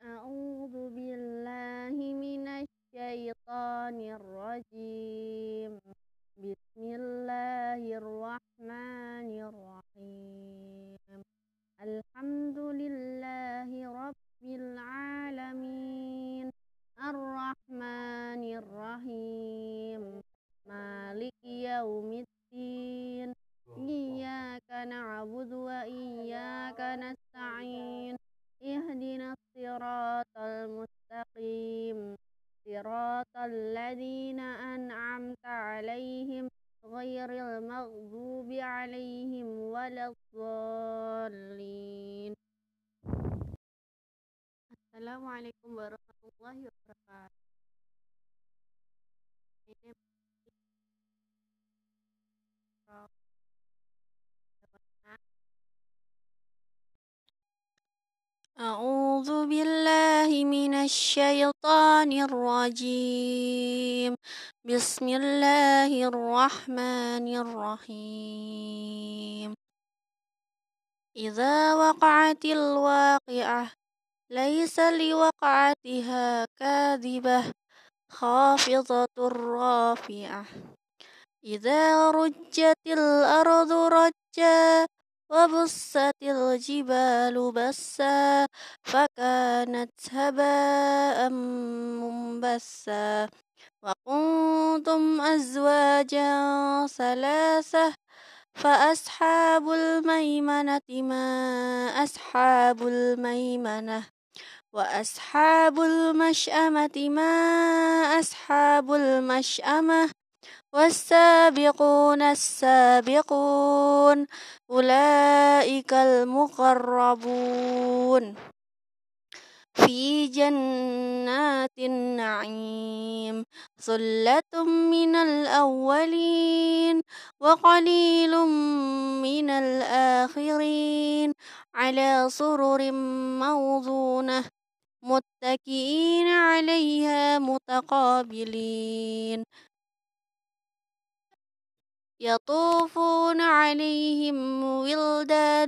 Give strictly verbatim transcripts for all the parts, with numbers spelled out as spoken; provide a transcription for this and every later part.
أعوذ بالله من الشيطان الرجيم. بسم الله الرحمن الرحيم. الحمد لله رب العالمين، الرحمن الرحيم، مالك يوم الدين. إياك نعبد وإياك نستعين. اهدنا الصراط المستقيم، صراط الذين أنعمت عليهم غير المغضوب عليهم ولا الضالين. Assalamualaikum warahmatullahi wabarakatuh. Ini أعوذ بالله من الشيطان الرجيم. بسم الله الرحمن الرحيم. إذا وقعت الواقعة ليس لوقعتها كاذبة خافضة رافعة. إذا رجت الأرض رجا وبست الجبال بسا فكانت هباء منبثا. وكنتم أزواجا ثلاثة فأصحاب الميمنة ما أصحاب الميمنة وأصحاب المشأمة ما أصحاب المشأمة والسابقون السابقون أولئك المقربون في جنات النعيم. ثلة من الأولين وقليل من الآخرين على سرر موضونة متكئين عليها متقابلين. يطوفون عليهم ولدان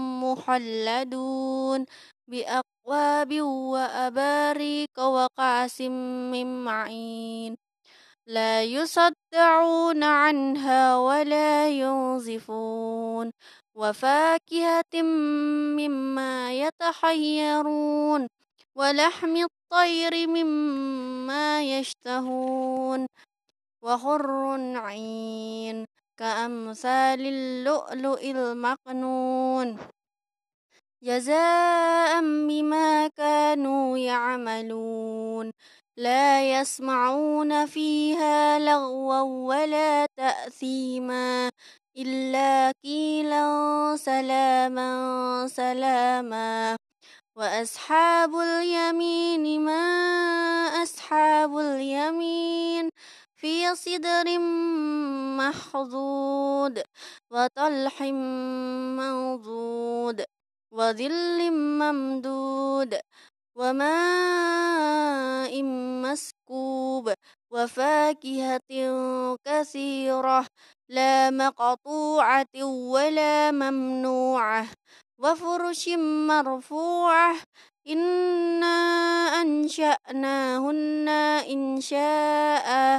مخلدون بأكواب وأباريق وكأس من معين لا يصدعون عنها ولا ينزفون. وفاكهة مما يتخيرون ولحم الطير مما يشتهون وحور عين كأمثال اللؤلؤ المكنون جزاء بما كانوا يعملون. لا يسمعون فيها لغوا ولا تأثيما إلا قيلا سلاما سلاما. وأصحاب اليمين ما أصحاب اليمين في صدر مخضود وطلح منضود وظل ممدود وماء مسكوب وفاكهة كثيرة لا مقطوعة ولا ممنوعة وفرش مرفوعة إنا أنشأناهن إنشاء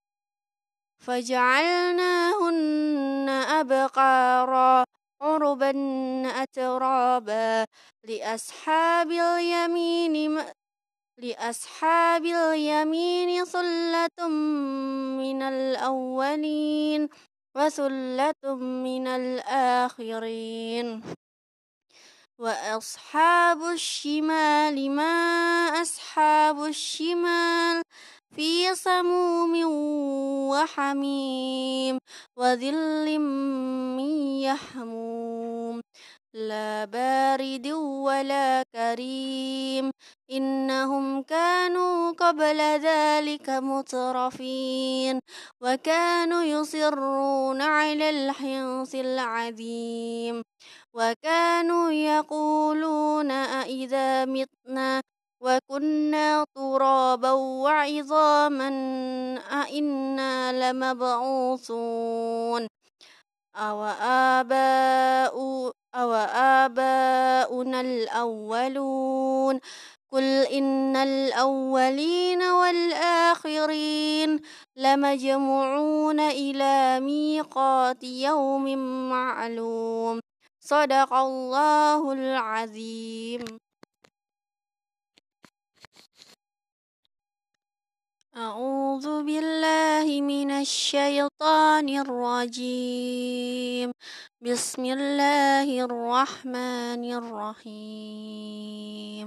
فجعلناهن أبقارا عربا أترابا. لأصحاب اليمين لأصحاب اليمين ثلة من الأولين وثلة من الآخرين. وأصحاب الشمال ما أصحاب الشمال في سموم وحميم وظل من يحموم لا بارد ولا كريم إنهم كانوا قبل ذلك مترفين وكانوا يصرون على الحنث العظيم وكانوا يقولون أإذا متنا وكنا ترابا وعظاما أإنا لمبعوثون أو آباؤنا الأولون قل إن الأولين والآخرين لمجموعون إلى ميقات يوم معلوم. صدق الله العظيم. أعوذ بالله من الشيطان الرجيم. بسم الله الرحمن الرحيم.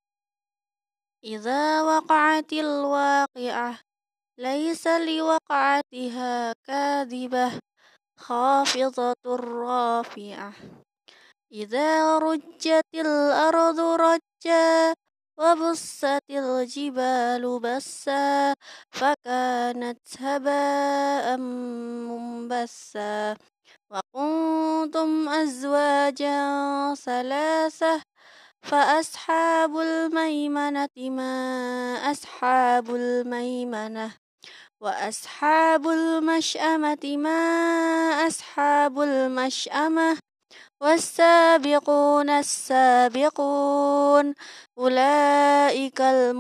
إذا وقعت الواقعة ليس لوقعتها كاذبة خافضة رافعة. إذا رجت الأرض رجا وبست الجبال بسا فكانت هباء منبثا. وكنتم أزواجا ثلاثة فأصحاب الميمنة ما أصحاب الميمنة وأصحاب المشأمة ما أصحاب المشأمة والسابقون السابقون أولئك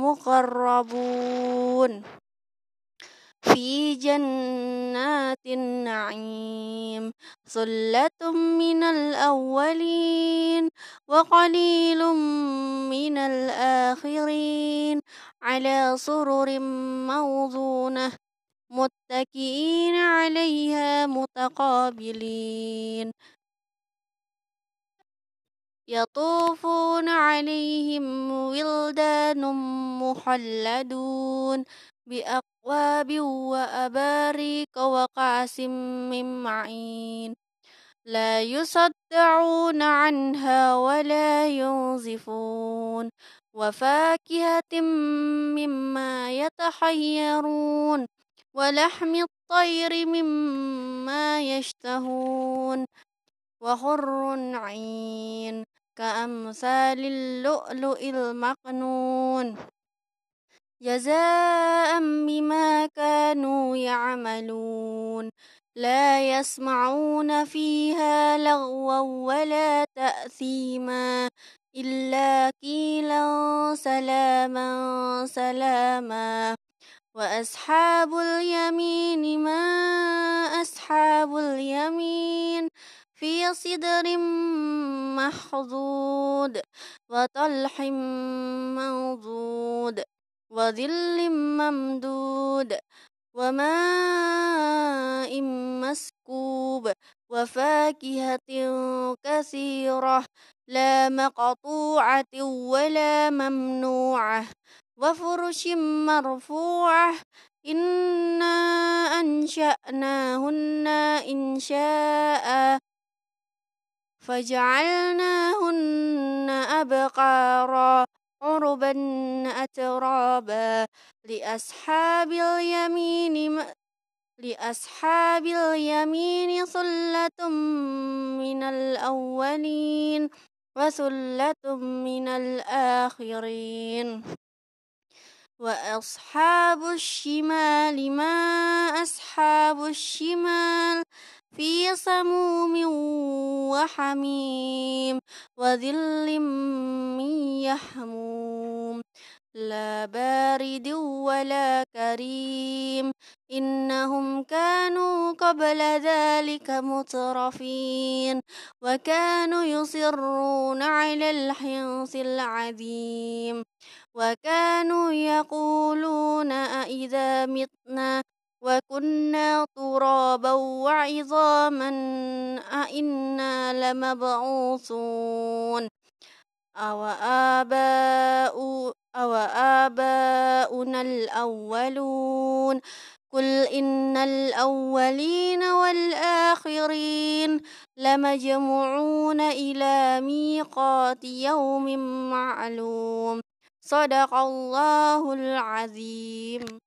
المقربون في جنات النعيم. ثلة من الأولين وقليل من الآخرين على سرر موضونة متكئين عليها متقابلين. يطوفون عليهم ولدان مخلدون بأكواب وأباريق وكأس من معين لا يصدعون عنها ولا ينزفون. وفاكهة مما يتخيرون ولحم الطير مما يشتهون وحور عين كأمثال اللؤلؤ المكنون جزاء بما كانوا يعملون. لا يسمعون فيها لغوا ولا تأثيما إلا قيلا سلاما سلاما. وأصحاب اليمين ما أصحاب اليمين في صدر مخضود وطلح منضود وظل ممدود وماء مسكوب وفاكهة كثيرة لا مقطوعة ولا ممنوعة وفرش مرفوعة إنا أنشأناهن إنشاء فجعلناهن أبقارا عربا أترابا لأصحاب اليمين لأصحاب اليمين ثلة من الأولين وثلة من الآخرين. وأصحاب الشمال ما أصحاب الشمال في سموم وحميم وظل من يحموم لا بارد ولا كريم إنهم كانوا قبل ذلك مترفين وكانوا يصرون على الحنث العظيم وكانوا يقولون أإذا متنا وكنا ترابا وعظاما أإنا لمبعوثون أو آباء أو آباؤنا الأولون قل إن الأولين والآخرين لمجموعون إلى ميقات يوم معلوم. صدق الله العظيم.